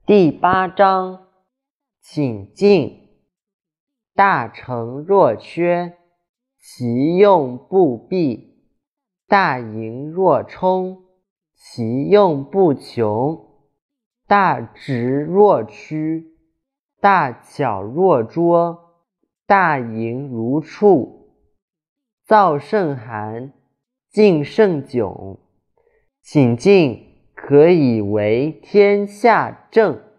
第8章请进。大成若缺，其用不弊；大盈若冲，其用不穷；大直若屈，大巧若拙，大盈如触。燥甚寒，静甚窘，请进可以为天下正。